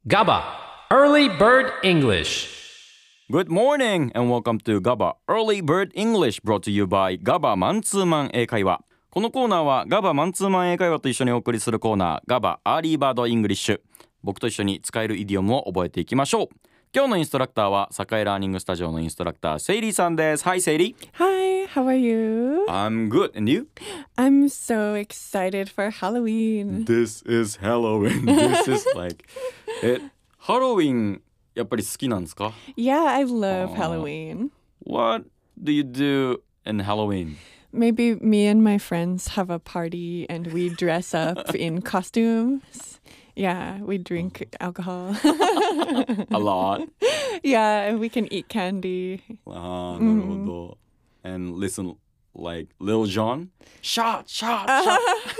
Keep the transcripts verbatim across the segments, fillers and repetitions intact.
ガバ Early Bird English. Good morning and welcome to ガバ Early Bird English brought to you by ガバマンツーマン英会話。このコーナーはガバマンツーマン英会話と一緒にお送りするコーナーガバアーリーバードイングリッシュ。僕と一緒に使えるイディオムを覚えていきましょう。今日のインストラクターは栄ラーニングスタジオのインストラクターセイリーさんです。Hi セイリー。 Hi, how are you? I'm good and you? I'm so excited for Halloween. This is Halloween. This is like え、ハロウィンやっぱり好きなんですか？ Yeah, I love Aw. Halloween. What do you do in Halloween? Maybe me and my friends have a party and we dress up in costumes. Yeah, we drink alcohol. A lot? Yeah, and we can eat candy. ああ、なるほど。And listen like Lil Jon? Shot, shot, shot.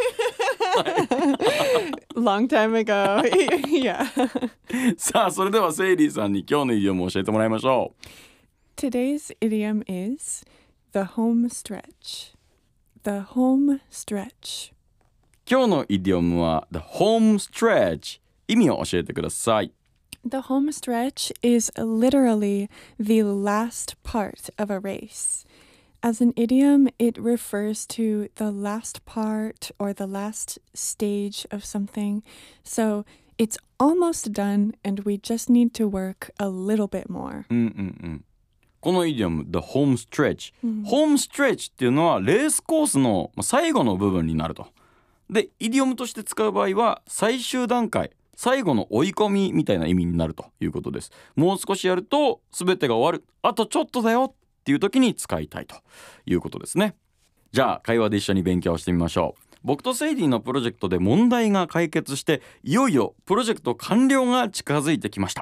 Long time ago. Yeah. さあ、それではセイリーさんに今日のイディオムを教えてもらいましょう。 Today's idiom is the home stretch. The home stretch. 今日のイディオムは The home stretch。意味を教えてください。 The home stretch is literally the last part of a race. As an idiom, it refers to the last part or the last stage of something. So it's almost done and we just need to work a little bit more. うんうんうん。このイディオム The home stretch、うん、ホームストレッチっていうのはレースコースの最後の部分になると。で、イディオムとして使う場合は最終段階、最後の追い込みみたいな意味になるということです。もう少しやると全てが終わる、あとちょっとだよっていう時に使いたいということですね。じゃあ会話で一緒に勉強してみましょう。僕とセイリーのプロジェクトで問題が解決して、いよいよプロジェクト完了が近づいてきました。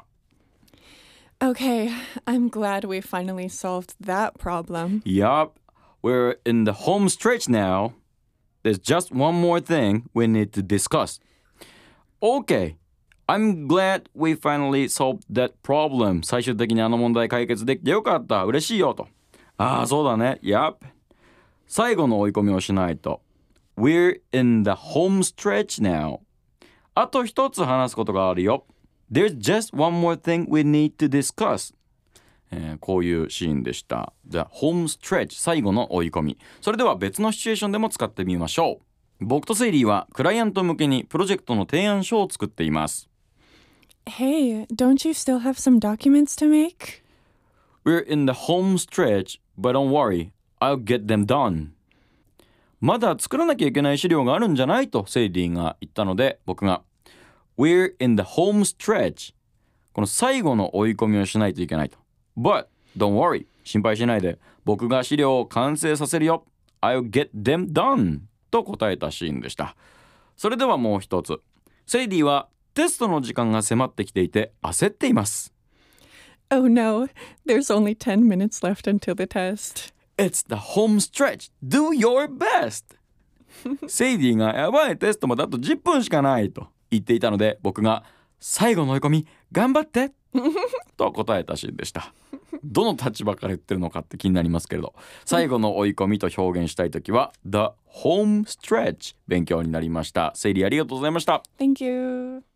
Okay, I'm glad we finally solved that problem. Yup, we're in the home stretch now. There's just one more thing we need to discuss. Okay, I'm glad we finally solved that problem. 最終的にあの問題解決できてよかった。嬉しいよと。ああ、そうだね。Yup. 最後の追い込みをしないと。We're in the home stretch now. あと一つ話すことがあるよ。There's just one more thing we need to discuss. えー、こういうシーンでした。The home stretch 最後の追い込み。それでは別のシチュエーションでも使ってみましょう。僕とセイリーはクライアント向けにプロジェクトの提案書を作っています。 Hey, don't you still have some documents to make? We're in the home stretch, but don't worry, I'll get them done. まだ作らなきゃいけない資料があるんじゃないとセイリーが言ったので、僕が We're in the home stretch. この最後の追い込みをしないといけないと。But don't worry, 心配しないで。僕が資料を完成させるよ。I'll get them done. と答えたシーンでした。それではもう一つ。セイリーはテストの時間が迫ってきていて焦っています。 Oh no, there's only ten minutes left until the test. It's the home stretch. Do your best. セイリーがやばいテストまであとじゅっぷんしかないと言っていたので、僕が最後の追い込み頑張ってと答えたシーンでした。どの立場から言ってるのかって気になりますけれど、最後の追い込みと表現したいときは The home stretch 勉強になりました。セイリーありがとうございました。 Thank you.